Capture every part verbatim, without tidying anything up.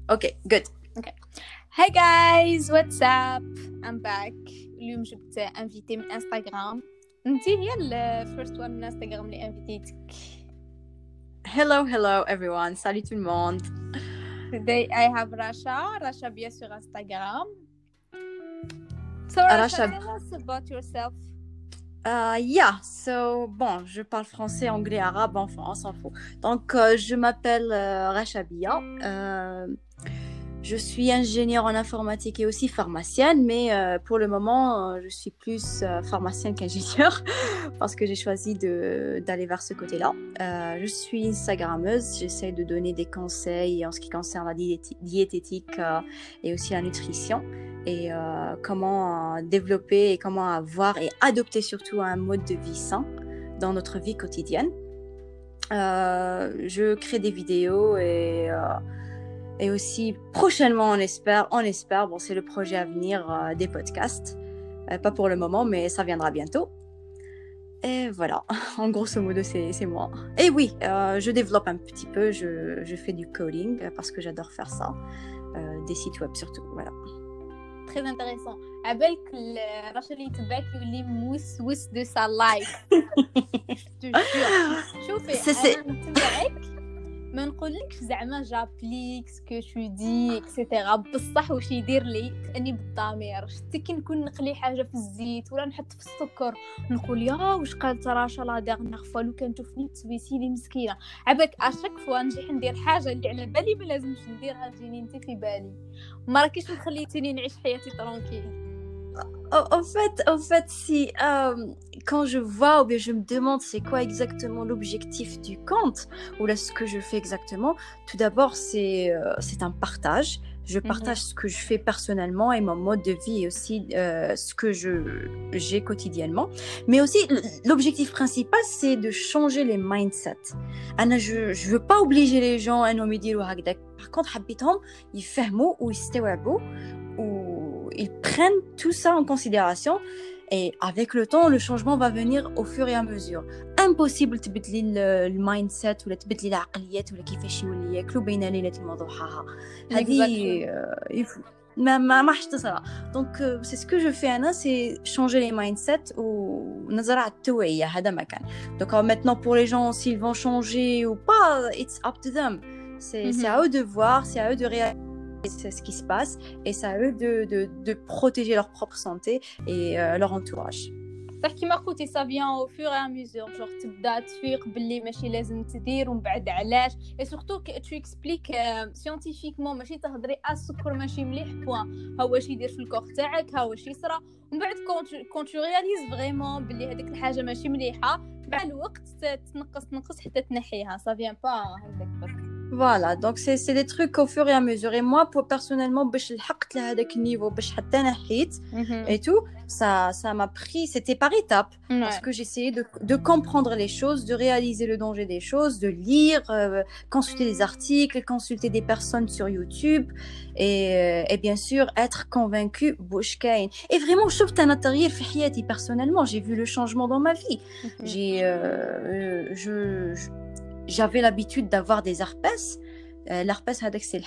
Okay, good. Okay. Hey guys, what's up? I'm back. اليوم جبت انفيتي من انستغرام. انتي هي ال first one من انستغرام اللي انفيتيتك. Hello, hello everyone. Salut tout le monde. Today I have Rasha. Rasha bien sur Instagram. So Rasha, Rasha, tell us about yourself. Uh, yeah, so bon, je parle français, anglais, arabe, enfin, on s'en fout. Donc, euh, je m'appelle euh, Rasha Bia. Euh, je suis ingénieure en informatique et aussi pharmacienne, mais euh, pour le moment, euh, je suis plus euh, pharmacienne qu'ingénieure parce que j'ai choisi de, d'aller vers ce côté-là. Euh, je suis Instagrammeuse, j'essaie de donner des conseils en ce qui concerne la diéti- diététique euh, et aussi la nutrition. Et euh, comment euh, développer et comment avoir et adopter surtout un mode de vie sain dans notre vie quotidienne. Euh, je crée des vidéos et, euh, et aussi prochainement on espère, on espère, bon c'est le projet à venir euh, des podcasts, euh, pas pour le moment mais ça viendra bientôt. Et voilà, en grosso modo c'est, c'est moi. Et oui, euh, je développe un petit peu, je, je fais du coding parce que j'adore faire ça, euh, des sites web surtout, voilà. Très intéressant. عبالك رشا اللي يتبعك يولي موسوس دو سا لايف. جو شوفي انا نتبعك ما نقولكش زعما جابليك سكو تو دي اكسيتيرا بصح واش يدير لي اني بالضمير شتي كي نكون نقلي حاجه في الزيت ولا نحط في السكر نقول يا واش قالت راشا لا ديرنيغ فوا لو كان تشوفني تسويسي لي مسكينه عباك اشاك فوا نجي ندير حاجه اللي على بالي ما لازمش نديرها تجيني انت في بالي ما راكيش مخليتيني نعيش حياتي ترونكيل. En fait, en fait, si euh, quand je vois ou bien je me demande c'est quoi exactement l'objectif du compte ou là ce que je fais exactement, tout d'abord c'est euh, c'est un partage. Je partage mm-hmm. ce que je fais personnellement et mon mode de vie et aussi euh, ce que je j'ai quotidiennement. Mais aussi l'objectif principal c'est de changer les mindsets. Anna, je je veux pas obliger les gens à nous dire هكذا. Par contre, حبيتهم يفهموا ويستوعبوا ou ils prennent tout ça en considération et avec le temps le changement va venir au fur et à mesure. Impossible تبدلي المايندسيت ولا تبدلي العقليات ولا كيفاش يولي ياكلوا بين ليلة المضحى هذه ما ما ما حتصرا. Donc euh, c'est ce que je fais Anna, c'est changer les mindsets ونزرع التوعية هذا ما كان. Donc euh, maintenant pour les gens s'ils vont changer ou pas, it's up to them. C'est mm-hmm. c'est à eux de voir, c'est à eux de réaliser c'est ce qui se passe et c'est à eux de, de, de protéger leur propre santé et euh, leur entourage. صح كيما قلتي ça vient au fur et à mesure genre تبدا تفيق باللي ماشي لازم تدير ومن بعد علاش et surtout tu expliques euh, scientifiquement ماشي تهضري السكر ماشي مليح بوين ها واش يدير في الكور تاعك ها واش يصرى ومن بعد كون كون tu réalises vraiment باللي هذيك الحاجه ماشي مليحه مع الوقت تنقص تنقص حتى تنحيها ça vient pas هكذاك برك. Voilà, donc c'est c'est des trucs au fur et à mesure et moi pour personnellement باش لحقت لهذاك النيفو باش حتى نحيت et tout ça ça m'a pris c'était par étapes ouais. Parce que j'essayais de de comprendre les choses, de réaliser le danger des choses, de lire, euh, consulter des articles, consulter des personnes sur YouTube et et bien sûr être convaincu بوش كاين. Et vraiment شفت انا التغيير في حياتي personnellement, j'ai vu le changement dans ma vie. J'ai euh, je, je j'avais l'habitude d'avoir des herpès. الهربس هذاك سي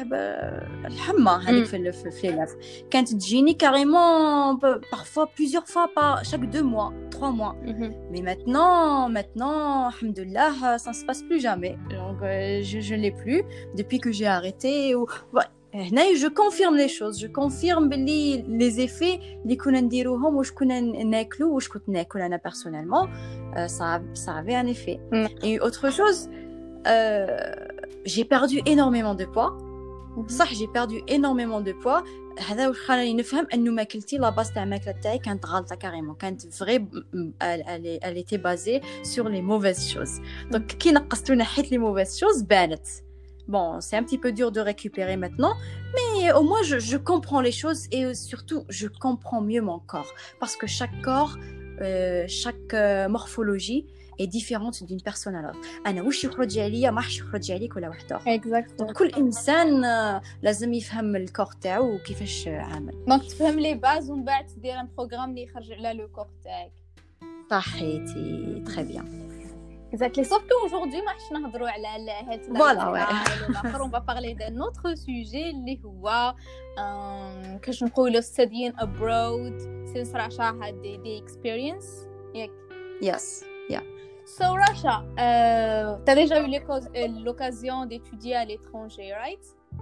الحمى هذيك في في اللافه كانت تجيني كاريمون parfois plusieurs fois par chaque deux mois trois mois mm-hmm. mais maintenant maintenant alhamdoulilah ça ne se passe plus jamais donc euh, je je l'ai plus depuis que j'ai arrêté ou هنا je confirme les choses je confirme باللي les effets اللي كنا نديروهم واش كنا ناكلو واش كنت ناكل انا personnellement euh, ça ça avait un effet mm. Et autre chose euh, j'ai perdu énormément de poids. صح j'ai perdu énormément de poids. هذا واش خلاني نفهم انه ماكلتي لا باس تاع الماكله تاعي كانت غلطه كاريمون كانت فري elle était basée sur les mauvaises choses. Donc كي نقصت ونحيت les mauvaises choses بانت. Bon, c'est un petit peu dur de récupérer maintenant, mais au moins je, je comprends les choses et surtout je comprends mieux mon corps parce que chaque corps, euh, chaque euh, morphologie est différente d'une personne à l'autre. أنا وش يخرج عليا ما حش يخرج عليك ولا واحد آخر. Exactement. كل إنسان لازم يفهم الكور تاعو وكيفاش عامل. Donc تفهم لي باز ومن بعد تدير ان بروغرام اللي يخرج على لو كور تاعك. صحيتي très bien. Exactly. Sauf qu'aujourd'hui ما حش نهضروا على هاد Voilà, ouais. الاخر. On va parler d'un autre sujet اللي هو كاش نقولوا studying abroad since Russia had the, the experience. ياك. Yes. Yeah. So Russia, uh, t'as déjà eu l'occasion d'étudier à l'étranger, right?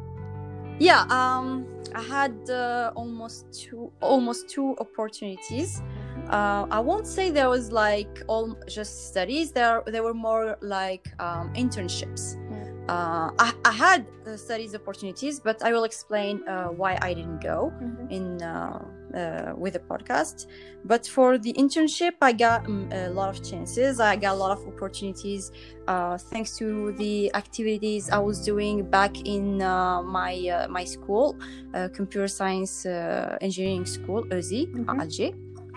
Yeah, um, I had uh, almost two almost two opportunities. Uh, I won't say there was like all just studies. There there were more like um, internships. Uh, I, I had uh, studies opportunities, but I will explain uh, why I didn't go mm-hmm. in uh, uh, with the podcast. But for the internship, I got um, a lot of chances. I got a lot of opportunities uh, thanks to the activities I was doing back in uh, my uh, my school, uh, computer science uh, engineering school, E Z I, mm-hmm. à Alger.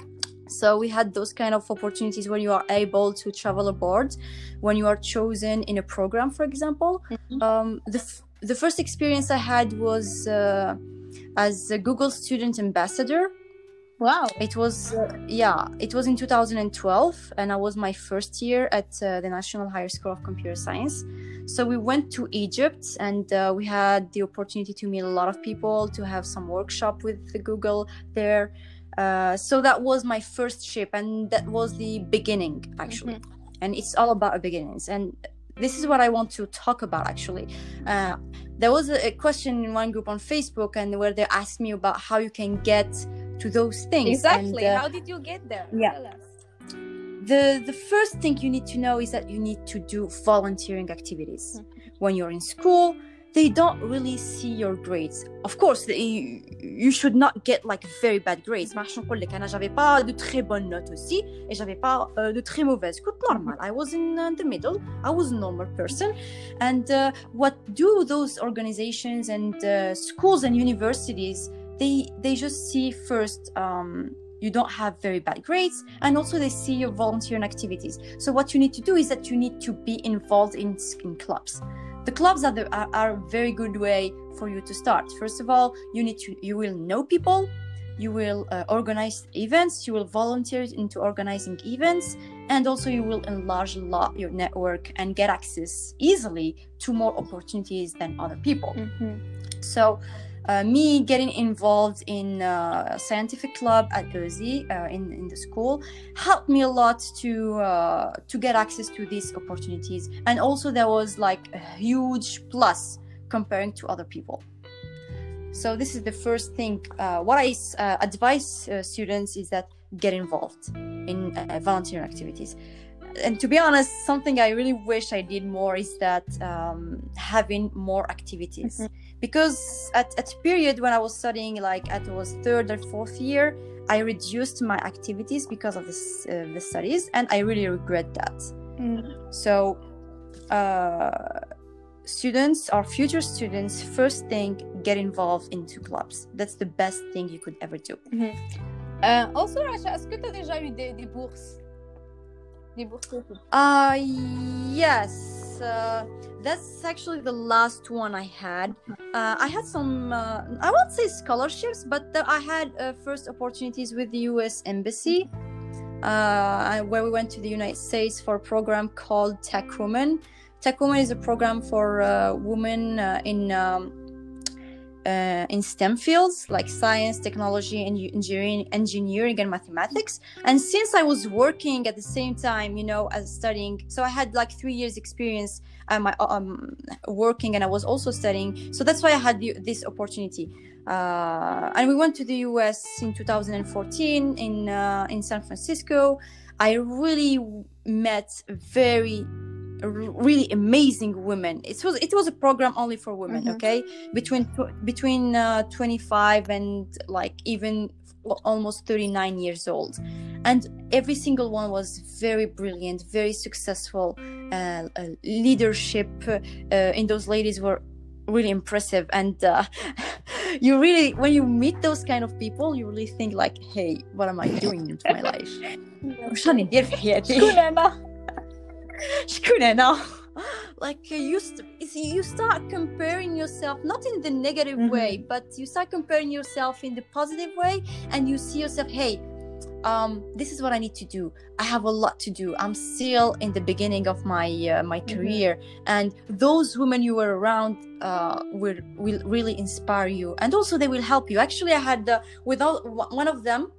So we had those kind of opportunities when you are able to travel abroad, when you are chosen in a program, for example. Mm-hmm. Um, the f- the first experience I had was uh, as a Google Student Ambassador. Wow! It was uh, yeah, it was in two thousand twelve, and I was my first year at uh, the National Higher School of Computer Science. So we went to Egypt, and uh, we had the opportunity to meet a lot of people, to have some workshop with the Google there. Uh, so that was my first trip, and that was the beginning, actually. Mm-hmm. And it's all about beginnings. And this is what I want to talk about, actually. Uh, there was a, a question in one group on Facebook, and where they asked me about how you can get to those things. Exactly. And, uh, how did you get there? Yeah. Tell us. The the first thing you need to know is that you need to do volunteering activities. Mm-hmm. When you're in school, they don't really see your grades. Of course, they, you should not get like very bad grades. ما راح نقول لك أنا j'avais pas de très bonnes notes aussi et j'avais pas uh, de très mauvaises. كنت normal. I was in uh, the middle. I was a normal person. And uh, what do those organizations and uh, schools and universities? They they just see first um, you don't have very bad grades, and also they see your volunteering activities. So what you need to do is that you need to be involved in, in clubs. The clubs are, the, are, are a very good way for you to start. First of all, you need to you will know people, you will uh, organize events, you will volunteer into organizing events, and also you will enlarge a lot your network and get access easily to more opportunities than other people. Mm-hmm. So uh, me getting involved in a scientific club at E Z I uh, in, in the school helped me a lot to uh, to get access to these opportunities. And also there was like a huge plus comparing to other people. So this is the first thing. Uh, what I uh, advise uh, students is that get involved in uh, volunteer activities. And to be honest, something I really wish I did more is that um, having more activities. Mm-hmm. Because at at period when I was studying, like at was third or fourth year, I reduced my activities because of this uh, the studies, and I really regret that. Mm. So, uh, students or future students, first thing, get involved into clubs. That's the best thing you could ever do. Mm-hmm. Uh, also, Rasha, est-ce que tu as déjà eu des, des bourses? Des bourses? Uh, yes. Uh, that's actually the last one I had. Uh, I had some, uh, I won't say scholarships, but the, I had uh, first opportunities with the U S Embassy, uh, where we went to the United States for a program called Tech Women. Tech Women is a program for uh, women uh, in um, uh, in STEM fields like science, technology, and engineering, engineering and mathematics. And since I was working at the same time, you know, as studying, so I had like three years experience at my um, working, and I was also studying. So that's why I had the, this opportunity. Uh, and we went to the U S in two thousand fourteen in uh, in San Francisco. I really met very really amazing women. It was it was a program only for women. Mm-hmm. Okay, between between uh, twenty-five and like even almost thirty-nine years old, and every single one was very brilliant, very successful. Uh, uh, leadership uh, in those ladies were really impressive, and uh, you really, when you meet those kind of people, you really think like, hey, what am I doing into my life? وش راني ندير في حياتي؟ شكون أنا؟ شكون أنا؟ Like uh, you, st- you start comparing yourself, not in the negative mm-hmm. way, but you start comparing yourself in the positive way, and you see yourself, hey, um, this is what I need to do. I have a lot to do. I'm still in the beginning of my uh, my career, mm-hmm. and those women you were around uh, will will really inspire you, and also they will help you. Actually, I had uh, without one of them.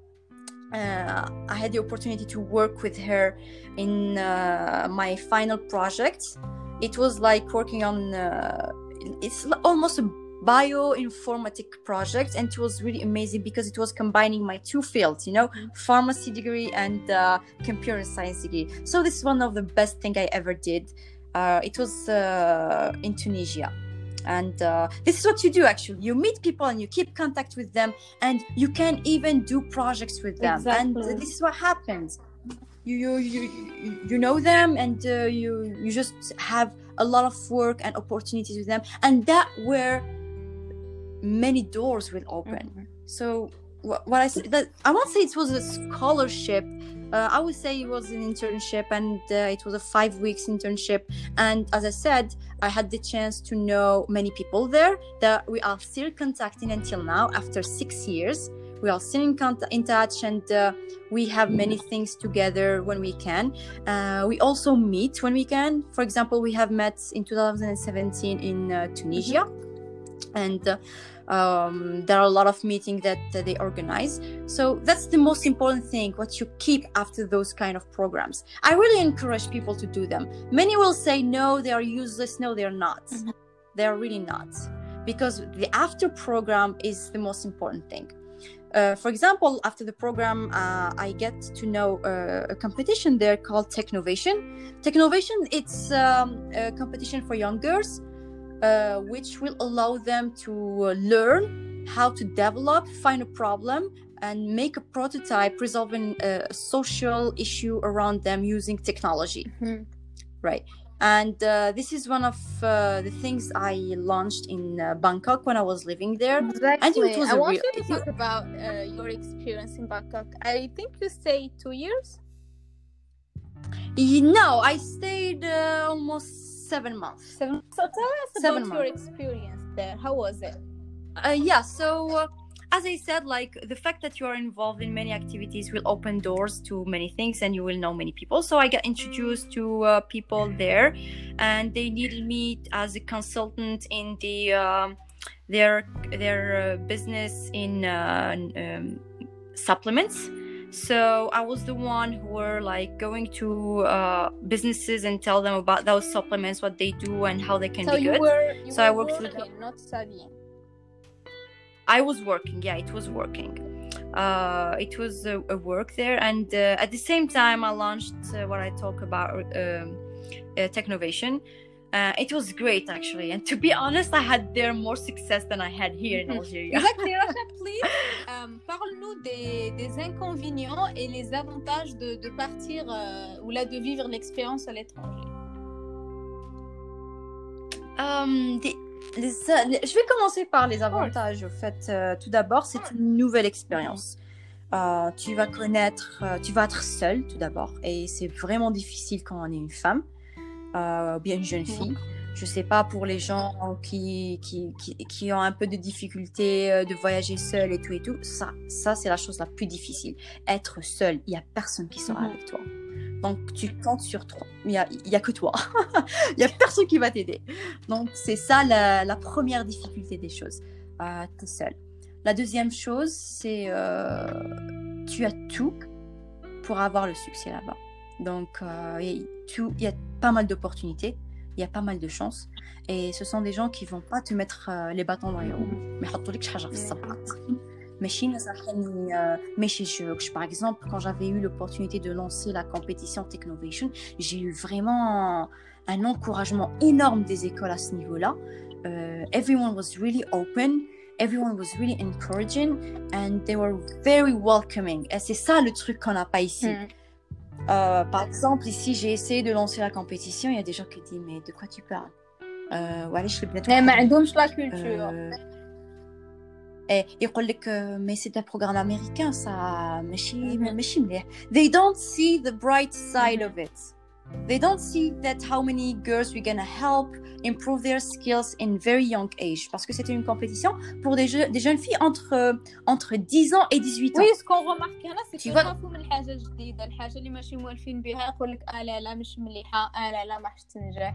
Uh, I had the opportunity to work with her in uh, my final project. It was like working on, uh, it's almost a bioinformatic project, and it was really amazing because it was combining my two fields, you know, mm-hmm. pharmacy degree and uh, computer science degree. So this is one of the best thing I ever did. Uh, it was uh, in Tunisia. And uh, this is what you do, actually. You meet people and you keep contact with them, and you can even do projects with them. Exactly. And this is what happens. You you you, you know them, and uh, you you just have a lot of work and opportunities with them, and that where many doors will open. Mm-hmm. So what, what I say that I won't say it was a scholarship. Uh, I would say it was an internship, and uh, it was a five weeks internship. And as I said, I had the chance to know many people there that we are still contacting until now. After six years, we are still in, contact, in touch, and uh, we have many things together when we can. Uh, we also meet when we can. For example, we have met in two thousand seventeen in uh, Tunisia, mm-hmm. and uh, Um, there are a lot of meetings that uh, they organize. So that's the most important thing, what you keep after those kind of programs. I really encourage people to do them. Many will say, no, they are useless. No, they are not. Mm-hmm. They are really not. Because the after program is the most important thing. Uh, for example, after the program, uh, I get to know uh, a competition there called Technovation. Technovation, it's um, a competition for young girls. Uh, which will allow them to uh, learn how to develop, find a problem, and make a prototype resolving a social issue around them using technology. Mm-hmm. Right. And uh, this is one of uh, the things I launched in uh, Bangkok when I was living there. Exactly. And it was I a want real... you to talk about uh, your experience in Bangkok. I think you stayed two years? No, I stayed uh, almost seven months. Seven. So tell us seven about months. your experience there. How was it? Uh, yeah. So uh, as I said, like the fact that you are involved in many activities will open doors to many things, and you will know many people. So I got introduced to uh, people there, and they needed me as a consultant in the um, their their uh, business in uh, um, supplements. So I was the one who were like going to uh, businesses and tell them about those supplements, what they do, and how they can so be you good. Were, you so were I worked working, with not studying. I was working. Yeah, it was working. Uh, it was a, a work there, and uh, at the same time, I launched uh, what I talk about, um, uh, Technovation. Uh, it was great, actually, and to be honest, I had there more success than I had here in Algeria. Exactly, Rasha, please. Um, parle-nous des, des inconvénients et les avantages de, de partir euh, ou là de vivre l'expérience à l'étranger. Um, des, les, les, je vais commencer par les avantages. Au fait, euh, tout d'abord, c'est une nouvelle expérience. Euh, tu vas connaître, euh, tu vas être seule, tout d'abord, et c'est vraiment difficile quand on est une femme. Euh, bien une jeune fille. Je sais pas, pour les gens qui, qui, qui, qui ont un peu de difficulté de voyager seul et tout et tout, ça, ça c'est la chose la plus difficile. Être seul, il y a personne qui sera mm-hmm. avec toi. Donc tu comptes sur toi. Il y a, il y a que toi. Il y a personne qui va t'aider. Donc c'est ça la, la première difficulté des choses. Euh, t'es seul. La deuxième chose, c'est euh, tu as tout pour avoir le succès là-bas. Donc, euh, il y a pas mal d'opportunités, il y a pas mal de chances. Et ce sont des gens qui ne vont pas te mettre euh, les bâtons dans les roues. Mais par exemple, quand j'avais eu l'opportunité de lancer la compétition Technovation, j'ai eu vraiment un encouragement énorme des écoles à ce niveau-là. Uh, everyone was really open. Everyone was really encouraging. And they were very welcoming. Et c'est ça le truc qu'on n'a pas ici. Mm. Euh, par exemple, ici, j'ai essayé de lancer la compétition. Il y a des gens qui disent, mais de quoi tu parles? Euh, ouais, je mais ما عندهمش la culture. Et ils disent que mais c'est un programme américain, ça. ماشي ماشي مليح. They don't see the bright side of it. they don't see that how many girls we're gonna help improve their skills in very young age. Parce que c'était une compétition pour des, jeux, des jeunes filles entre, entre dix ans et dix-huit ans. Oui, ce qu'on remarque là, c'est qu'ils يخافوا من الحاجة الجديدة، الحاجة اللي ماشي موالفين بها يقول لك آه لا لا مش مليحة، آه لا لا ما راحش تنجح.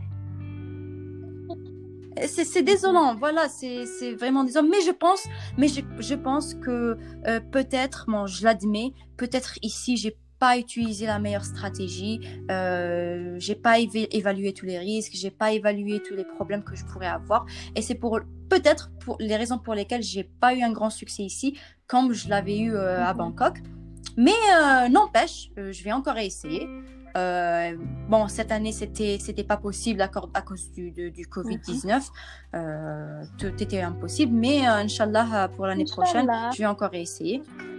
C'est, c'est désolant, voilà, c'est, c'est vraiment désolant. Mais je pense, mais je, je pense que euh, peut-être, bon, je l'admets, peut-être ici, j'ai pas utilisé la meilleure stratégie, euh, j'ai pas éva- évalué tous les risques, j'ai pas évalué tous les problèmes que je pourrais avoir. Et c'est pour peut-être pour les raisons pour lesquelles j'ai pas eu un grand succès ici, comme je l'avais eu euh, à Bangkok. Mais euh, n'empêche, euh, je vais encore essayer. Euh, bon, cette année, c'était, c'était pas possible à, à cause du, de, du covid dix-neuf. Euh, tout était impossible. Mais, euh, Inch'Allah, pour l'année Inch'Allah. prochaine, je vais encore essayer.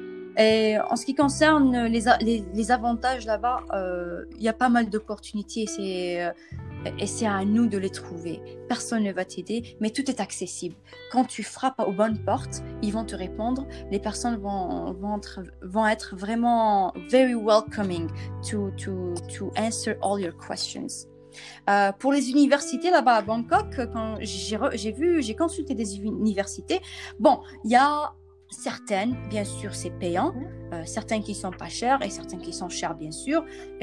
Et en ce qui concerne les, les, les avantages là-bas, il euh, y a pas mal d'opportunités et c'est, euh, et c'est à nous de les trouver. Personne ne va t'aider, mais tout est accessible. Quand tu frappes aux bonnes portes, ils vont te répondre. Les personnes vont, vont, être, vont être vraiment very welcoming to, to, to answer all your questions. Euh, pour les universités là-bas à Bangkok, quand j'ai, j'ai vu, j'ai consulté des universités. Bon, il y a certaines, bien sûr, c'est payant. Euh, certains qui sont pas chers et certains qui sont chers, bien sûr.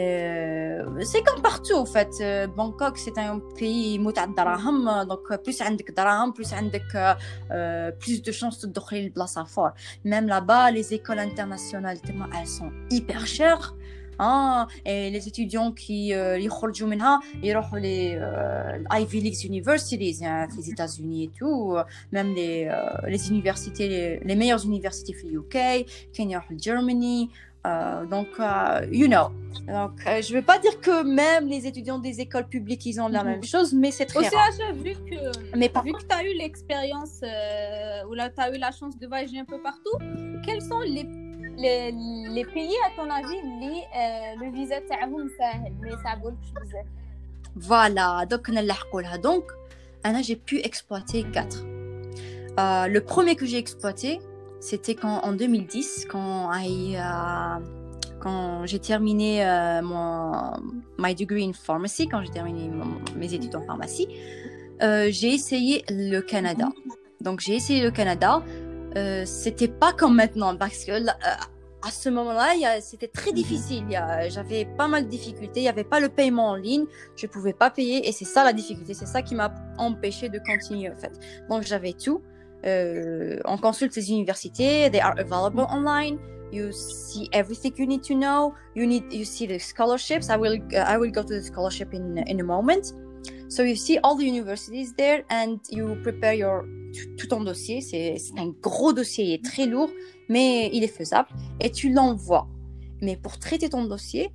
Euh, c'est comme partout, en fait. Euh, Bangkok, c'est un pays متعة دراهم, donc plus عندك دراهم, plus عندك euh, plus de chances de تدخلي البلاصة fort. Même là-bas, les écoles internationales, elles sont hyper chères. Ah, et les étudiants qui يخرجوا منها يروحوا les euh, Ivy League universities hein, les États-Unis et tout, même les euh, les universités les, les meilleures universités في U K كاين يروحوا Germany. Euh, donc, euh, you know. Donc, euh, je ne vais pas dire que même les étudiants des écoles publiques, ils ont la même chose, mais c'est très Aussi, rare. Aussi, vu que, mais vu que tu as eu l'expérience euh, ou là, tu as eu la chance de voyager un peu partout, quels sont les, les, les pays, à ton avis, les, euh, le visa تاعهم سهل mais ça بولكش بزاف. Voilà, donc on a donc Anna, j'ai pu exploiter quatre. Euh, le premier que j'ai exploité, c'était quand, en deux mille dix, quand, I, uh, quand j'ai terminé uh, mon my degree in pharmacy, quand j'ai terminé mon, mes études en pharmacie, euh, j'ai essayé le Canada. Donc j'ai essayé le Canada. Euh, c'était pas comme maintenant parce que euh, à ce moment-là, y a, c'était très difficile. Y a, j'avais pas mal de difficultés. Il y avait pas le paiement en ligne. Je pouvais pas payer et c'est ça la difficulté. C'est ça qui m'a empêché de continuer en fait. Donc j'avais tout. Euh, on consulte les universités, they are available online. You see everything you need to know. You need, you see the scholarships. I will, uh, I will go to the scholarship in in a moment. So you see all the universities there, and you prepare your tout ton dossier. C'est, c'est un gros dossier, il est très lourd, mais il est faisable. Et tu l'envoies. Mais pour traiter ton dossier,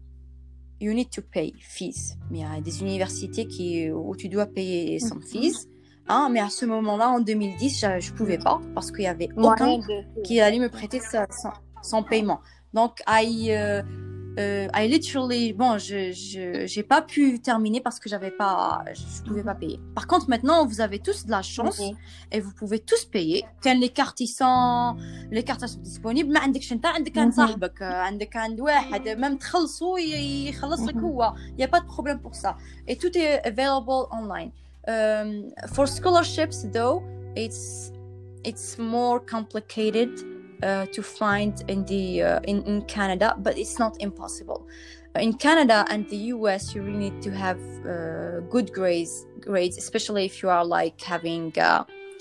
you need to pay fees. Mais il y a des universités qui où tu dois payer some fees. Hein, mais à ce moment-là, en deux mille dix, je ne pouvais pas parce qu'il n'y avait aucun qui allait me prêter sa, son, son paiement. Donc, I, uh, uh, I literally, bon, je n'ai pas pu terminer parce que j'avais pas, je ne pouvais pas payer. Par contre, maintenant, vous avez tous de la chance okay. et vous pouvez tous payer. Quand les cartes ils sont, les cartes sont disponibles, ما عندكش انت عندك عند صاحبك عندك عند واحد même تخلصوا يخلص لك هو. Il n'y a pas de problème pour ça. Et tout est available online. Um, for scholarships, though, it's it's more complicated uh, to find in the uh, in, in Canada, but it's not impossible. In Canada and the U S, you really need to have uh, good grades, grades, especially if you are like having uh,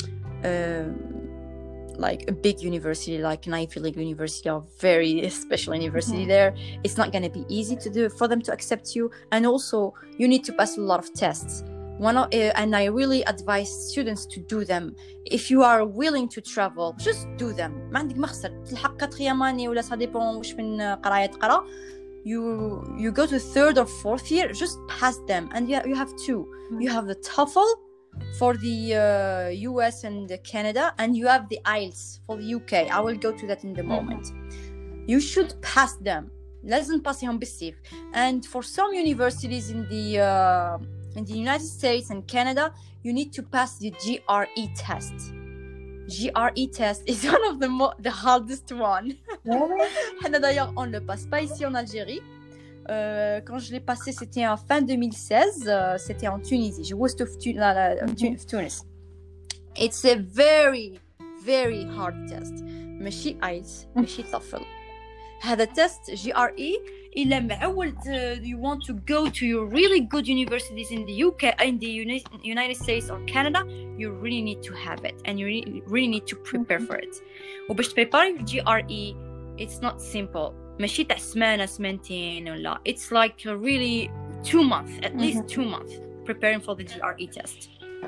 uh, like a big university, like an Ivy League university or very special university. Mm-hmm. There, it's not going to be easy to do for them to accept you, and also you need to pass a lot of tests. One of, uh, and I really advise students to do them. If you are willing to travel, just do them. ما عندك مخسر. تلحق quatrième année ولا ça dépend واش من قراية تقرا. You you go to third or fourth year, just pass them, and you you have two. Mm-hmm. You have the TOEFL for the uh, U S and the Canada, and you have the I E L T S for the U K. I will go to that in the moment. Mm-hmm. You should pass them. لازم تباسيهم بالسيف. And for some universities in the uh, in the United States and Canada, you need to pass the G R E test. G R E test is one of the mo- the hardest one. حنا d'ailleurs on le passe pas ici en Algérie. euh, quand je l'ai passé, c'était en fin deux mille seize. Euh, c'était en Tunisie. Je was to tu- la, la, tu- Tunis. It's a very, very hard test. ماشي آيلتس ماشي TOEFL. هذا test G R E إلا معود uh, you want to go to your really good universities in the U K, in the Uni- United States or Canada, you really need to have it and you really, really need to prepare for it. وباش تبريباري G R E, it's not simple. ماشي تاع سمانة سمانتين ولا. It's like a really two months, at least two months preparing for the G R E test.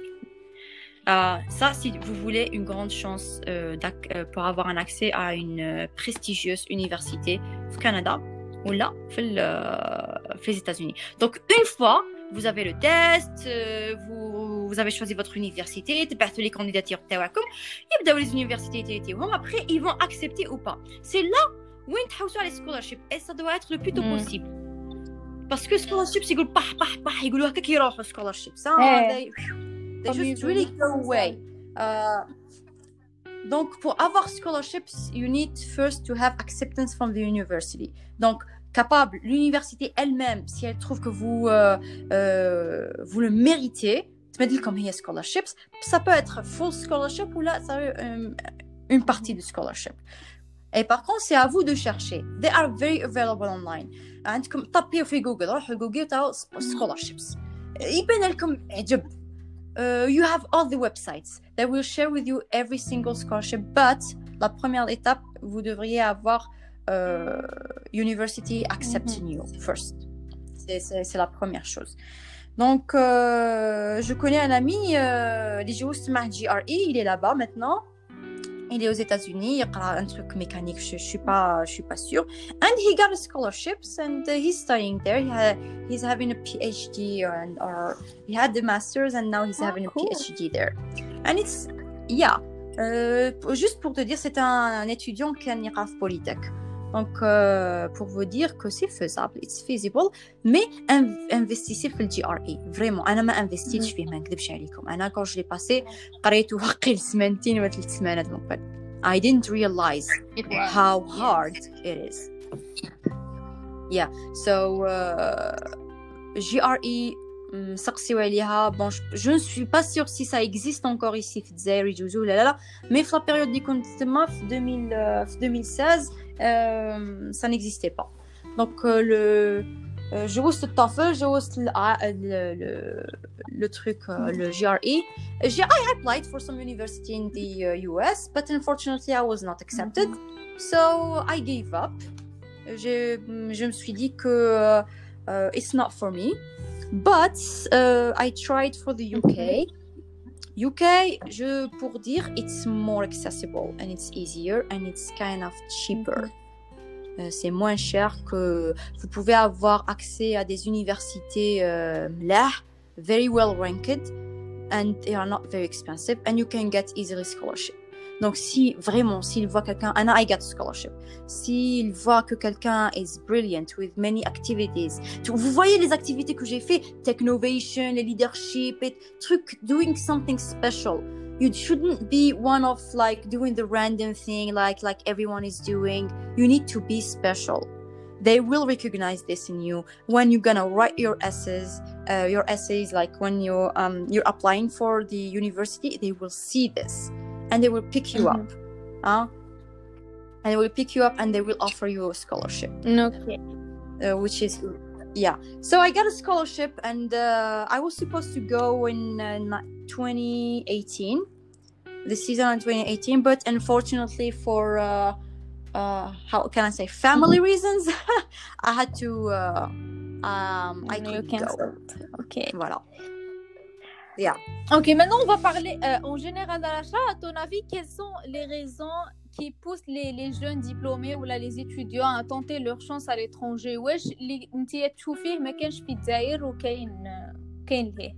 Uh, ça, si vous voulez une grande chance euh, euh, pour avoir un accès à une euh, prestigieuse université au Canada ou là, aux États-Unis. Donc, une fois, vous avez le test, euh, vous, vous avez choisi votre université, vous avez les candidatures, les universités, après, ils vont accepter ou pas. C'est là où ils ont les scholarships et ça doit être le plus tôt mm. possible. Parce que scholarships, ils disent, bah, bah, bah, ils disent, qu'ils vont aux scholarships. Ça, hey. They just really go away. Uh, donc, pour avoir scholarships, you need first to have acceptance from the university. Donc, capable, l'université elle-même, si elle trouve que vous, euh, euh, vous le méritez, tu me dis comme il y a scholarships, ça peut être full scholarship ou là, ça peut être une, une partie de scholarship. Et par contre, c'est à vous de chercher. They are very available online. عندكم طبيوا في جوجل، روحوا جوجل تاعو scholarships. يبان لكم عجب. Uh, you have all the websites that will share with you every single scholarship, but la première étape, vous devriez avoir uh, university accepting mm-hmm. you first. C'est, c'est, c'est la première chose. Donc, euh, je connais un ami, les euh, G R E, il est là-bas maintenant. Il est aux États-Unis, il a un truc mécanique, je, je suis pas, je suis pas sûre. And he got a scholarships and uh, he's studying there. He had, he's having a PhD and or he had the masters and now he's oh, having cool. a PhD there. And it's yeah. Euh, juste pour te dire, c'est un, un étudiant qui a un I R A F Polytech. Donc euh, pour vous dire que c'est faisable, it's feasible. Mais in- investissez في G R E. Vraiment, أنا ما investiتش فيه ما نكذبش عليكم. أنا quand je l'ai passé قريته واقيلا سمانتين ولا ثلاث سمانات من قبل. I didn't realize how hard it is. Yeah, so uh, G R E سقسيو عليها. Bon, je ne suis pas sûre si ça existe encore ici في الجزائر يجوزوا ولا لا. Mais في la période اللي كنت تما في deux mille seize Euh, ça n'existait pas. Donc euh, le euh, je وصلت الطفل je وصلت le, le, le truc euh, le G R E. J'ai I applied for some university in the uh, U S but unfortunately I was not accepted. So I gave up. Je, je me suis dit que uh, it's not for me. But uh, I tried for the U K. U K, je pour dire, it's more accessible and it's easier and it's kind of cheaper. Mm-hmm. Euh, c'est moins cher que vous pouvez avoir accès à des universités euh, là, very well ranked and they are not very expensive and you can get easily scholarship. Donc si vraiment, s'il voit quelqu'un, and I got a scholarship, s'il voit que quelqu'un is brilliant with many activities, vous voyez les activités que j'ai fait, technovation, le leadership, et trucs, doing something special. You shouldn't be one of like doing the random thing like like everyone is doing. You need to be special. They will recognize this in you when you're gonna write your essays. Uh, your essays, like when you um you're applying for the university, they will see this. And they will pick you mm-hmm. up, huh? And they will pick you up and they will offer you a scholarship. Okay. Uh, which is, yeah. So I got a scholarship and uh, I was supposed to go in uh, twenty eighteen, the season in twenty eighteen, but unfortunately for, uh, uh, how can I say, family reasons, I had to, uh, um, I couldn't go. Okay. Voilà. Yeah. Ok, maintenant on va parler euh, en général à l'achat. À ton avis, quelles sont les raisons qui poussent les, les jeunes diplômés ou là, les étudiants à tenter leur chance à l'étranger? واش اللي انت تشوفيه ما كانش في الجزائر وكاين كاين ليه؟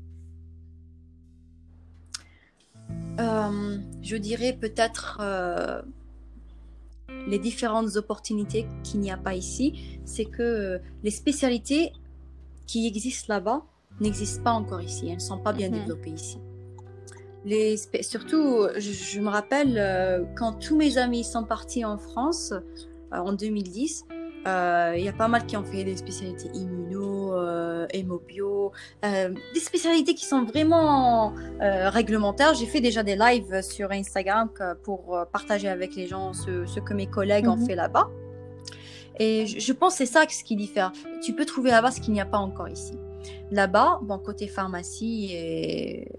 Euh, je dirais peut-être euh, les différentes opportunités qu'il n'y a pas ici, c'est que euh, les spécialités qui existent là-bas n'existent pas encore ici, elles ne sont pas bien mm-hmm. développées ici. Les spé- surtout, je, je me rappelle euh, quand tous mes amis sont partis en France euh, en deux mille dix, Euh, Il y a pas mal qui ont fait des spécialités immuno, euh, hémobio, euh, des spécialités qui sont vraiment euh, réglementaires. J'ai fait déjà des lives sur Instagram pour partager avec les gens ce, ce que mes collègues mm-hmm. ont fait là-bas. Et je, je pense que c'est ça ce qui diffère. Tu peux trouver là-bas ce qu'il n'y a pas encore ici. Là-bas, bon, côté pharmacie et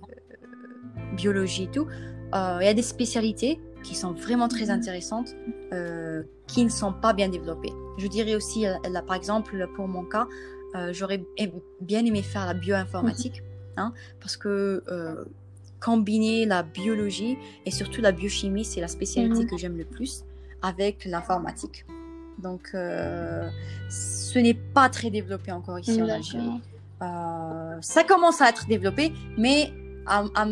biologie et tout, euh, il y a des spécialités qui sont vraiment très intéressantes, euh, qui ne sont pas bien développées. Je dirais aussi, là, par exemple, pour mon cas, euh, j'aurais bien aimé faire la bioinformatique, hein, parce que euh, combiner la biologie et surtout la biochimie, c'est la spécialité que j'aime le plus, avec l'informatique. Donc, euh, ce n'est pas très développé encore ici en Algérie. Euh, ça commence à être développé, mais à, à,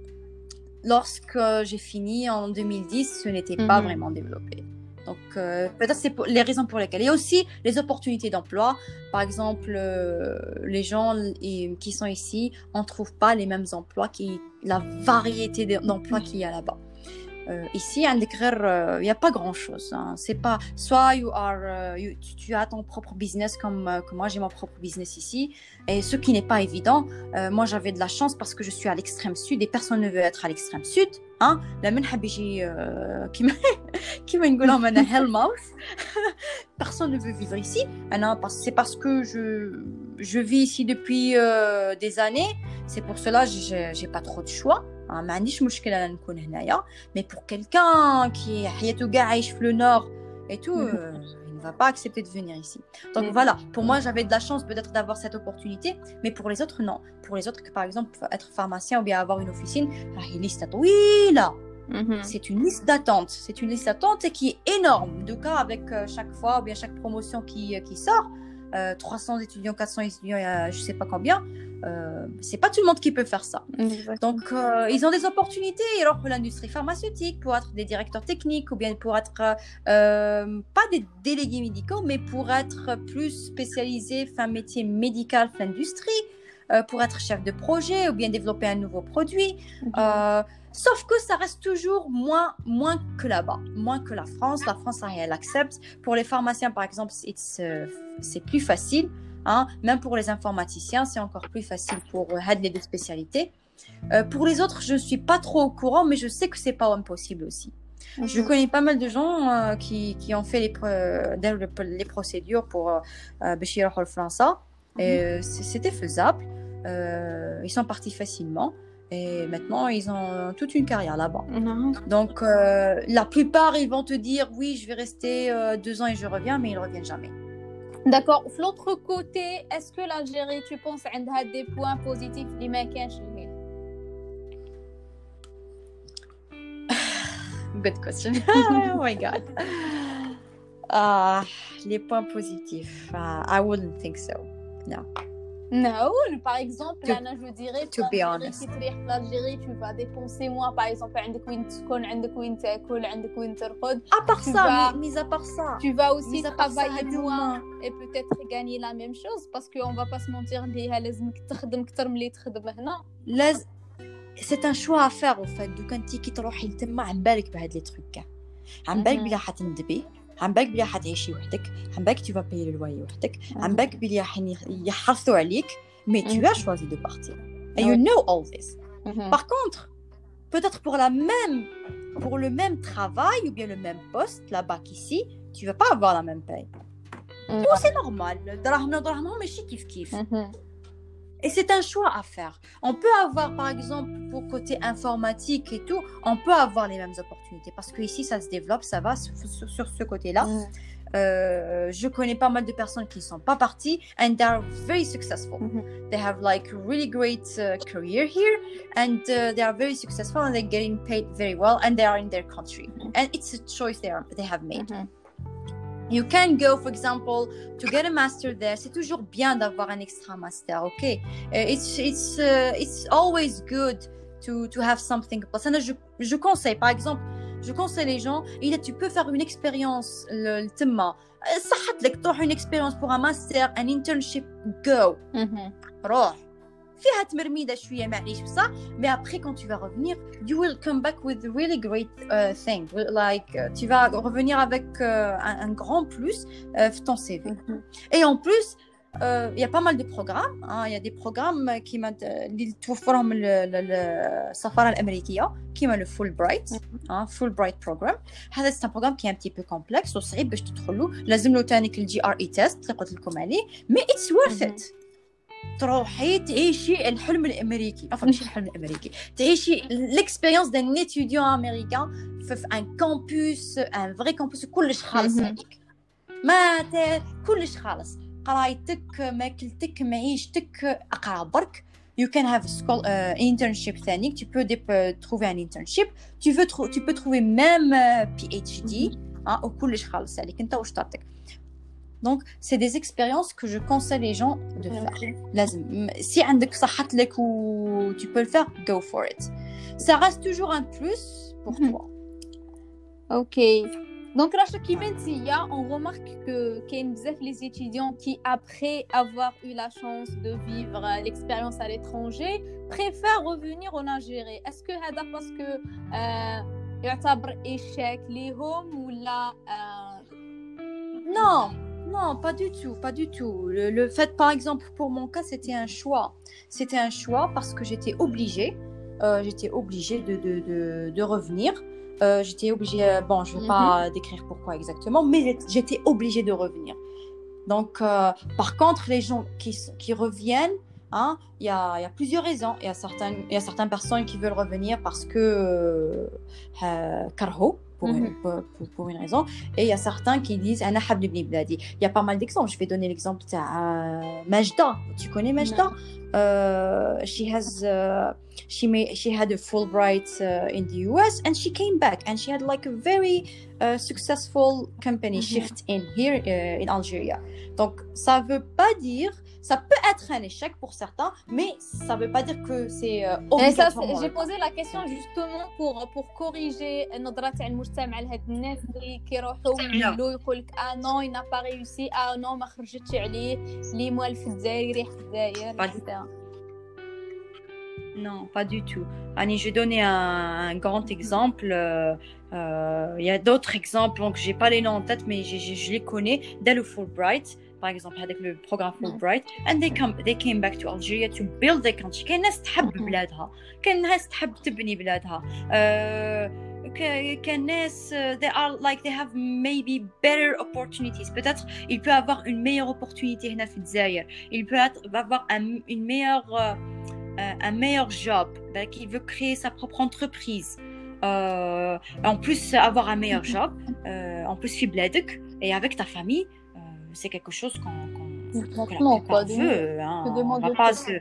lorsque j'ai fini en deux mille dix, ce n'était mm-hmm. pas vraiment développé. Donc, euh, peut-être c'est pour les raisons pour lesquelles. Il y a aussi les opportunités d'emploi. Par exemple, euh, les gens et, qui sont ici, on ne trouve pas les mêmes emplois, qui, la variété d'emplois mm-hmm. qu'il y a là-bas. Euh, ici, il n'y a pas grand-chose. Hein. C'est pas, soit you are, uh, you, tu, tu as ton propre business comme, euh, comme moi, j'ai mon propre business ici. Et ce qui n'est pas évident, euh, moi j'avais de la chance parce que je suis à l'extrême sud et personne ne veut être à l'extrême sud. Hein? La من حاب يجي كيما كيما نقولوا أنا hellmouth. Personne ne veut vivre ici. C'est parce que je, je vis ici depuis euh, des années. C'est pour cela que je n'ai pas trop de choix. ما عنديش مشكلة أنا نكون هنايا. Mais pour quelqu'un qui حياته قاع عايش في le nord et tout, euh, il ne va pas accepter de venir ici. Donc mm-hmm. voilà, pour moi j'avais de la chance peut-être d'avoir cette opportunité, mais pour les autres non. Pour les autres, par exemple, être pharmacien ou bien avoir une officine, il y a une liste طويلة. Mm-hmm. C'est une liste d'attente. C'est une liste d'attente qui est énorme. De cas avec euh, chaque fois ou bien chaque promotion qui, qui sort, euh, trois cents étudiants, quatre cents étudiants, euh, je ne sais pas combien. Euh, c'est pas tout le monde qui peut faire ça. Exactement. Donc euh, ils ont des opportunités alors pour l'industrie pharmaceutique, pour être des directeurs techniques ou bien pour être euh, pas des délégués médicaux, mais pour être plus spécialisés, faire un métier médical dans l'industrie, euh, pour être chef de projet ou bien développer un nouveau produit. Mm-hmm. euh, sauf que ça reste toujours moins, moins que là-bas, moins que la France. La France, elle accepte. Pour les pharmaciens, par exemple, it's, euh, c'est plus facile. Hein, même pour les informaticiens, c'est encore plus facile pour euh, les deux spécialités. Euh, pour les autres, je ne suis pas trop au courant, mais je sais que ce n'est pas impossible aussi. Mm-hmm. Je connais pas mal de gens euh, qui, qui ont fait les, euh, les procédures pour Béchir euh, France. Et c'était faisable. Euh, ils sont partis facilement. Et maintenant, ils ont toute une carrière là-bas. Mm-hmm. Donc, euh, la plupart, ils vont te dire, oui, je vais rester euh, deux ans et je reviens, mais ils ne reviennent jamais. D'accord. De l'autre côté, est-ce que l'Algérie, tu penses, a des points positifs اللي ما كانش ليه؟ Good question. Oh my God. Uh, les points positifs. Uh, I wouldn't think so. No. Non, par exemple, to, là, je dirais, to be honest. l'Algérie, tu vas dépenser moins, par exemple, عندك وين تسكن, عندك وين تاكل, عندك وين ترقد. À part ça, vas, mis à part ça. Tu vas aussi travailler moins et peut-être gagner la même chose parce qu'on va pas se mentir, ليها لازمك تخدم أكتر من اللي تخدم هنا. لازم. C'est un choix à faire au fait. دوك انت كي تروحي لتما عم بالك بهاد لي تروك. عم بالك بلا حتندبي. عم بالك بلي حتعيشي وحدك عم بالك tu vas payer le loyer وحدك عم بالك بلي يحرثوا عليك mais tu as choisi de partir and you know all this. Par contre peut-être pour la même pour le même travail ou bien le même poste là-bas qu'ici tu vas pas avoir la même paye. Oh, c'est normal دراهمنا دراهمهم ماشي كيف كيف. Et c'est un choix à faire. On peut avoir, par exemple, pour côté informatique et tout, on peut avoir les mêmes opportunités. Parce qu'ici, ça se développe, ça va sur, sur, sur ce côté-là. Mm. Euh, je connais pas mal de personnes qui ne sont pas parties and they are very successful. Mm-hmm. They have like a really great uh, career here and uh, they are very successful and they're getting paid very well and they are in their country. Mm-hmm. And it's a choice they, are, they have made. Mm-hmm. You can go, for example, to get a master there. C'est toujours bien d'avoir un extra master, ok? Uh, it's it's uh, it's always good to to have something. Parce que je je conseille, par exemple, je conseille les gens. Il tu peux faire une expérience le تما. صحت لك تروح une expérience pour un master, un internship. Go. Mm-hmm. روح. فيها تمرميده شويه معليش بصح mais après quand tu vas revenir you will come back with a really great uh, thing like uh, tu vas revenir avec uh, un, un grand plus uh, في ton C V mm-hmm. Et en plus il uh, y a pas mal de programmes il hein, y a des programmes qui اللي توفرهم السفاره الامريكيه كيما le Fulbright hein, Fulbright program هذا c'est un programme qui est un petit peu complexe وصعيب باش تدخلوا لازم له تانيك الجي ار اي تيست اللي قلت لكم عليه mais it's worth it تروحي تعيشي الحلم الامريكي enfin ماشي الحلم الامريكي تعيشي l'expérience d'un étudiant américain في ان كامبوس ان فري كامبوس كلش خالص عليك ما كلش خالص قرايتك ماكلتك معيشتك اقرا برك you can have a school uh, internship ثاني tu peux uh, trouver un internship tu veux tr- tu peux trouver même uh, PhD hein وكلش خالص عليك انت واش تعطيك donc c'est des expériences que je conseille les gens de faire لازم si عندك صحت لك و tu peux le faire go for it ça reste toujours un plus pour toi OK. Donc, Racha Kimentia, on remarque que qu'il y a les étudiants qui, après avoir eu la chance de vivre l'expérience à l'étranger, préfèrent revenir en Algérie. Est-ce que c'est parce que il y a un échec ليهم ولا Non, non, pas du tout, pas du tout. Le, le fait, par exemple, pour mon cas, c'était un choix. C'était un choix parce que j'étais obligée, euh, j'étais obligée de, de, de, de revenir. Euh, j'étais obligée, euh, bon, je ne vais mm-hmm. pas décrire pourquoi exactement, mais j'étais obligée de revenir. Donc, euh, par contre, les gens qui, qui reviennent, hein, il y a, y a plusieurs raisons. Il y a certaines, il y a certaines personnes qui veulent revenir parce que euh, karho, pour, mm-hmm. une, pour, pour une raison, et il y a certains qui disent أنا حاب نبني بلادي. Il y a pas mal d'exemples. Je vais donner l'exemple de uh, Majda. Tu connais Majda? Uh, she has uh, she made she had a Fulbright uh, in the U S and she came back and she had like a very uh, successful company mm-hmm. shift in here uh, in Algeria. Donc ça veut pas dire ça peut être un échec pour certains mais ça veut pas dire que c'est uh, obligatoirement. J'ai posé la question justement pour pour corriger النظرة تاع المجتمع لهاد الناس اللي كيروحوا يقولوا يقول لك اه نو il n'a pas réussi اه نو ما خرجتش عليه اللي موالف في الجزائر يريح في الجزائر. Non, pas du tout. Annie, je vais donner un, un grand exemple. Il euh, euh, y a d'autres exemples, donc j'ai pas les noms en tête, mais je, je, je les connais. Dès le Fulbright, par exemple, avec le programme Fulbright, and they come, they came back to Algeria to build their country. كاين ناس تحب بلادها، كاين ناس تحب تبني بلادها. كاين ناس they are like they have maybe better opportunities. Peut-être il peut avoir une meilleure opportunité هنا في الجزائر. Il peut avoir un, une meilleure euh, un meilleur job, donc il veut créer sa propre entreprise. Euh, en plus avoir un meilleur job, euh, en plus في بلادك et avec ta famille, euh, c'est quelque chose qu'on, qu'on, que la plupart veut. Hein. On va pas se...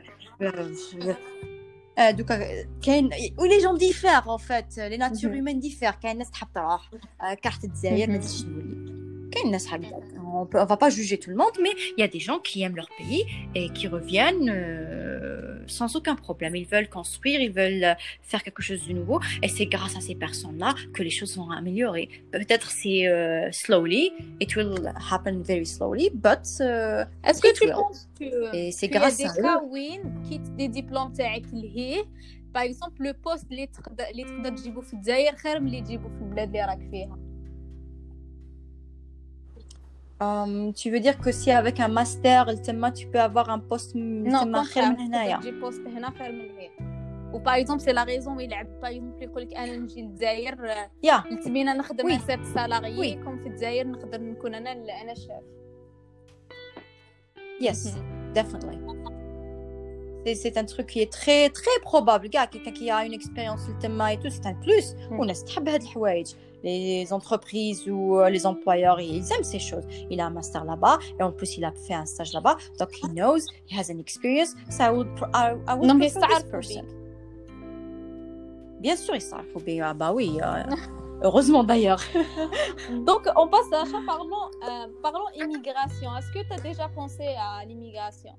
Euh, donc, كاين où les gens diffèrent en fait, les natures humaines diffèrent. كاين ناس تحب تروح كارت الجزائر ما تجيش نولي. كاين ناس حابة. On peut, on va pas juger tout le monde, mais il y a des gens qui aiment leur pays et qui reviennent euh, sans aucun problème. Ils veulent construire, ils veulent faire quelque chose de nouveau, et c'est grâce à ces personnes-là que les choses vont améliorer. Peut-être c'est euh, slowly, it will happen very slowly, but uh, est-ce que tu will. penses que et c'est grâce à eux. Il y a des cas où qui des diplômes تاعك لهيه par exemple le poste اللي تقدر اللي تقدر تجيبو في الجزائر خير من اللي تجيبو في البلاد اللي راك فيها. Um, tu veux dire que si avec un master, tu peux avoir un poste non, خير من هنايا. تجي بوست هنا خير من هنا. و par exemple c'est la raison où il a par exemple يقول لك انا نجي للجزائر تبينا نخدم oui. سيت سالاريي oui. كوم في الجزائر نقدر نكون انا انا شاف. Yes, mm-hmm. definitely. C'est, c'est un truc qui est très très probable. Gars, quelqu'un qui a une expérience le thème et tout, c'est un plus. On a تحب هاد الحوايج. Les entreprises ou les employeurs, ils aiment ces choses. Il a un master là-bas et en plus il a fait un stage là-bas, donc he knows, he has an experience. So I would, I, I would donc prefer this person. Bien sûr, il s'arrête bien. Ah bah oui. Euh, heureusement d'ailleurs. Donc on passe à ça. Parlons, euh, parlons immigration. Est-ce que tu as déjà pensé à l'immigration?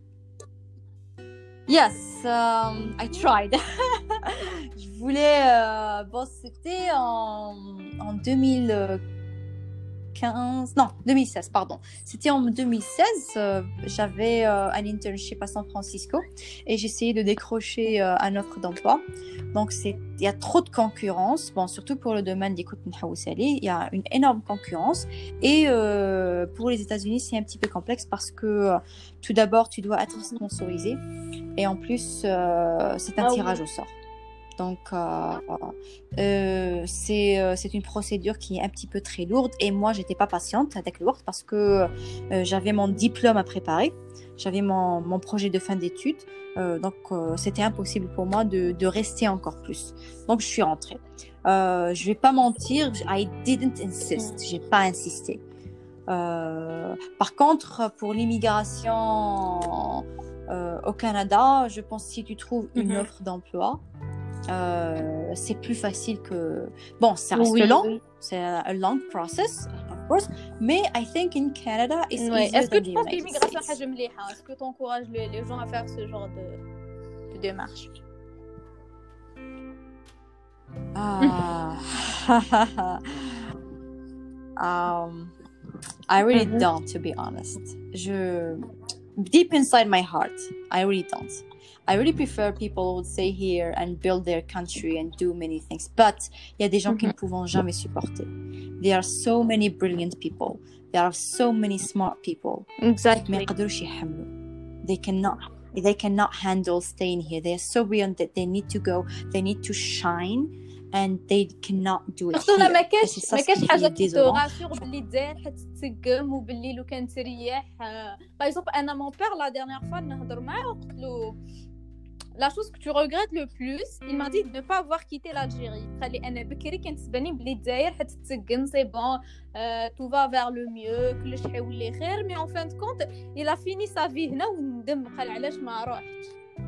Yes, um, I tried. Je voulais, euh, bon, c'était en, en deux mille quinze, non, deux mille seize, pardon. C'était en deux mille seize, euh, j'avais euh, un internship à San Francisco et j'essayais de décrocher euh, un offre d'emploi. Donc, c'est, il y a trop de concurrence, bon, surtout pour le domaine des Kout Nhaousali, il y a une énorme concurrence. Et euh, pour les États-Unis, c'est un petit peu complexe parce que euh, tout d'abord, tu dois être sponsorisé et en plus, euh, c'est un Ah oui. tirage au sort. Donc, euh, euh, c'est, euh, c'est une procédure qui est un petit peu très lourde. Et moi, j'étais pas patiente avec lourde parce que euh, j'avais mon diplôme à préparer. J'avais mon, mon projet de fin d'études. Euh, donc, euh, c'était impossible pour moi de, de rester encore plus. Donc, je suis rentrée. Euh, je vais pas mentir, I didn't insist. J'ai pas insisté. Euh, par contre, pour l'immigration euh, au Canada, je pense que si tu trouves une Mhm. offre d'emploi, Euh, c'est plus facile que... Bon, ça reste Oui, long, oui. c'est un long process, of course, mais I think in Canada, it's Ouais. easier Est-ce que than tu the penses que United l'immigration States. حاجة مليحة? Est-ce que tu encourages les, les gens à faire ce genre de, de démarche? Ah. um, I really Mhm. don't, to be honest. Je... Deep inside my heart, I really don't. I really prefer people who would stay here and build their country and do many things. But il y a des gens qui ne pourront jamais supporter. There are so many brilliant people. There are so many smart people. Exactly. ما يقدروش يحملوا. They cannot. They cannot handle staying here. They are so brilliant that they need to go. They need to shine, and they cannot do it surtout here. ما Et c'est كاش ça ما ce كاش qui حاجه est كي désolant. تغاسيغ باللي الجزائر حتتسقم وباللي لو كان تريح باغ اكزومبل انا مون بير لا ديرنيير فوا نهضر معاه وقلت له la chose que tu regrettes le plus il m'a dit de ne pas avoir quitté l'Algérie خلي انا بكري كانت تباني بلي الجزائر حتتسقم سي بون تو فا فير لو ميو كلش حيولي خير مي en fin de compte il a fini sa vie هنا وندم قال علاش ما روحتش.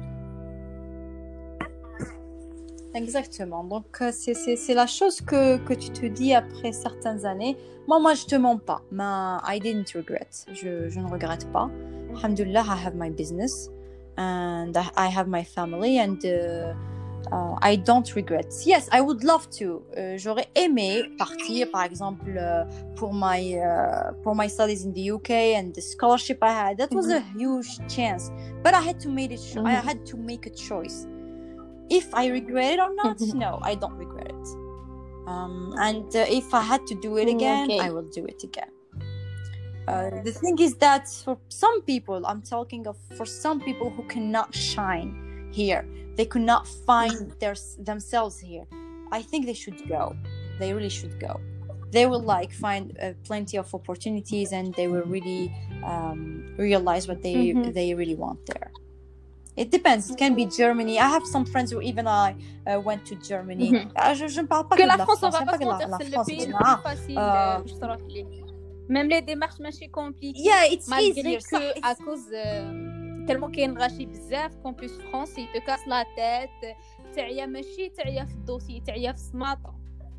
Exactement. Donc, euh, c'est, c'est, c'est la chose que, que tu te dis après certaines années. Moi, moi, je te mens pas. Mais I didn't regret. Je, je ne regrette pas. Alhamdulillah, I have my business. And I, I have my family. And uh, uh, I don't regret. Yes, I would love to. Euh, j'aurais aimé partir, par exemple, uh, pour, my, uh, pour my studies in the U K and the scholarship I had. That was a huge chance. But I had to make it. I had to make a choice. If I regret it or not, no, I don't regret it. Um, and uh, if I had to do it again, Okay. I will do it again. Uh, the thing is that for some people, I'm talking of for some people who cannot shine here, they could not find their themselves here. I think they should go. They really should go. They will like find uh, plenty of opportunities, and they will really um, realize what they Mm-hmm. they really want there. It depends. It can be Germany. I have some friends who even I uh, went to Germany. Mm-hmm. Je, je ne parle pas que que la de la France, France. on va pas se la, mentir, la c'est France, le pays le ah, plus facile euh, باش تروح ليه. Même les démarches ماشي compliquées. Yeah, it's malgré easier. que صح, à cause euh, tellement كاين غاشي بزاف campus France il te casse la tête تعيا ماشي تعيا في الدوسي تعيا في السماطه.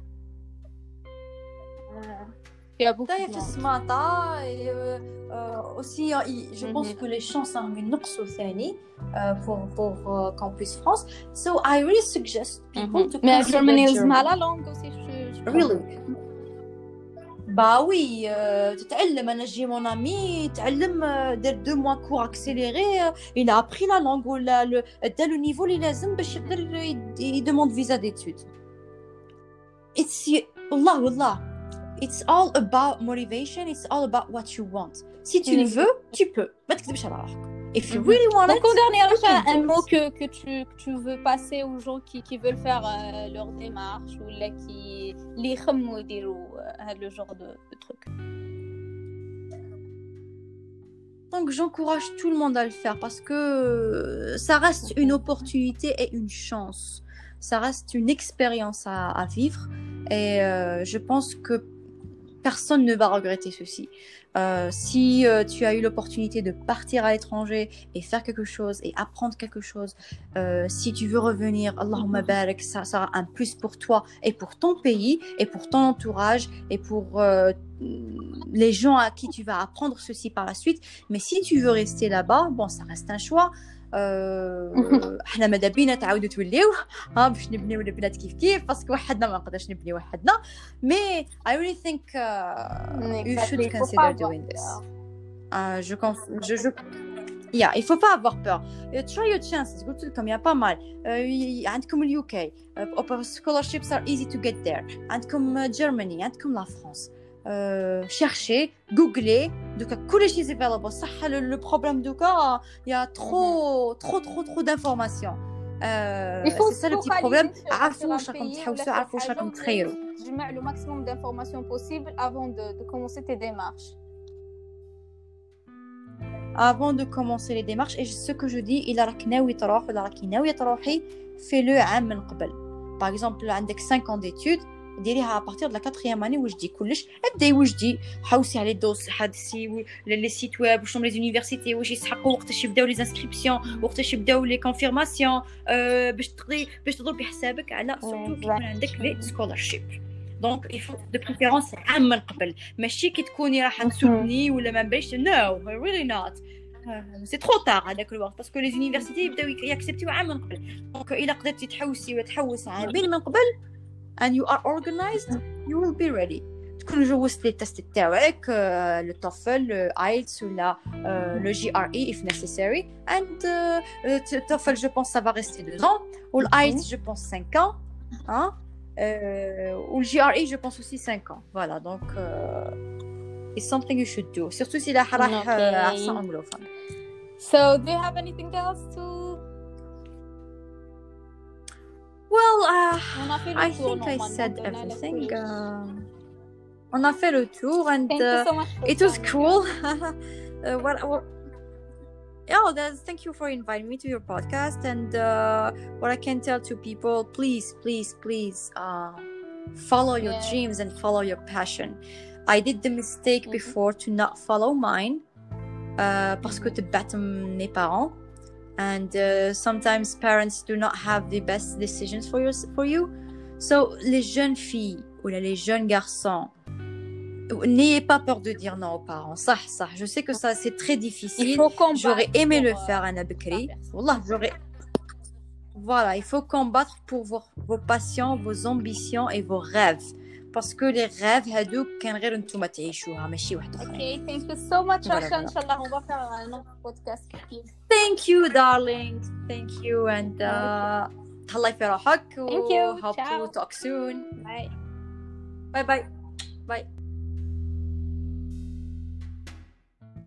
Il y a beaucoup D'ailleurs, de في monde. السماطة et, euh, euh, aussi, hein, il- je pense Mhm. que les chances sont ينقصوا ثاني euh, pour pour uh, Campus France. So I really suggest people to Mais consider Germany Germany. لازمها la langue aussi je, je Really? Bah oui, euh, تتعلم. أنا جي mon ami تعلم euh, دار deux mois cours accéléré. euh, il a appris la langue ولا le دار le niveau اللي لازم باش يقدر ي- ي- demande visa d'études. It's والله والله. It's all about motivation. It's all about what you want. Si tu le veux, tu peux. ما تكذبش على روحك. If you really want Donc, it, en dernier, you can un do mot it. que, que, tu, que tu veux passer aux gens qui, qui veulent faire euh, leur démarche ou là, qui les يخمموا يديروا هذا le genre de, de truc. Donc j'encourage tout le monde à le faire parce que ça reste une opportunité et une chance. Ça reste une expérience à, à vivre et euh, je pense que personne ne va regretter ceci. Euh, si euh, tu as eu l'opportunité de partir à l'étranger et faire quelque chose et apprendre quelque chose, euh, si tu veux revenir, Allahumma barak, ça sera un plus pour toi et pour ton pays et pour ton entourage et pour euh, les gens à qui tu vas apprendre ceci par la suite. Mais si tu veux rester là-bas, bon, ça reste un choix. أه... احنا ماذا بينا تعاودوا توليو ها باش نبنيو البلاد كيف كيف باسكو وحدنا ما نقدرش نبني وحدنا مي I really think uh, you should consider doing this uh, je conf- je je yeah il faut pas avoir peur try your chances قلت لكم يا pas mal uh, عندكم اليو كي scholarships are easy to get there عندكم Germany عندكم لا فرنسا Euh, chercher, googler, donc كل شيء available. صح le problème دوكا il y a trop trop trop trop d'informations. Euh, c'est ça le petit problème. عارفوا واش راكم تحوسوا عارفوا واش راكم تخيروا. تجمع le maximum d'informations possible avant de, de commencer tes démarches. Avant de commencer les démarches et ce que je dis il راك ناوي تروح ولا راكي ناوية تروحي في le عام من قبل. Par exemple عندك cinq ans d'études ديريها à partir de la quatrième année وجدي كلش ابداي وجدي حوسي على الدوس حدسي لي سيت ويب واش لي زونيفرسيتي واش يسحقوا وقتاش يبداو لي انسكريبسيون وقتاش يبداو لي كونفيرماسيون أه باش تقدري باش تضربي حسابك على سورتو كي يكون عندك لي سكولارشيب دونك يفو دو بريفيرونس عام من قبل ماشي كي تكوني راح تسوتني ولا ما بلاش نو ريلي نوت سي ترو تار هذاك الوقت باسكو لي زونيفرسيتي يبداو ياكسبتيو عام من قبل دونك الا قدرتي تحوسي ولا تحوس عامين من قبل and you are organized you will be ready تكون جوزت لي تيست تاعك لو توفل ايلتس ولا le G R E if necessary and le TOEFL je pense ça va rester deux ans ou l'IELTS je pense cinq ans hein ou le G R E je pense aussi cinq ans voilà donc it's something you should do surtout si la راح accent anglophone. So do you have anything else to Well, uh, I think I said everything. Uh, on a fait le tour and uh, so it was cool. uh, what, what, yeah, thank you for inviting me to your podcast. And uh, what I can tell to people, please, please, please uh, follow your yeah. dreams and follow your passion. I did the mistake mm-hmm. before to not follow mine uh, parce que te battre mes parents. And uh, sometimes parents do not have the best decisions for you. For you. So, les jeunes filles ou les jeunes garçons, n'ayez pas peur de dire non aux parents. Ça, ça. Je sais que ça, c'est très difficile. J'aurais aimé le faire, Anna Bekri. Wallah, j'aurais. Voilà, il faut combattre pour vos, vos passions, vos ambitions et vos rêves. Parce que les rêves هادوك كان غير نتوما تعيشوها ماشي واحد اخر. Okay, thank you so much عشان ان شاء الله on va faire un autre podcast كثير. Thank you darling. Thank you and uh, تهلاي في روحك. Thank you. Hope to talk soon. Bye. Bye bye. Bye.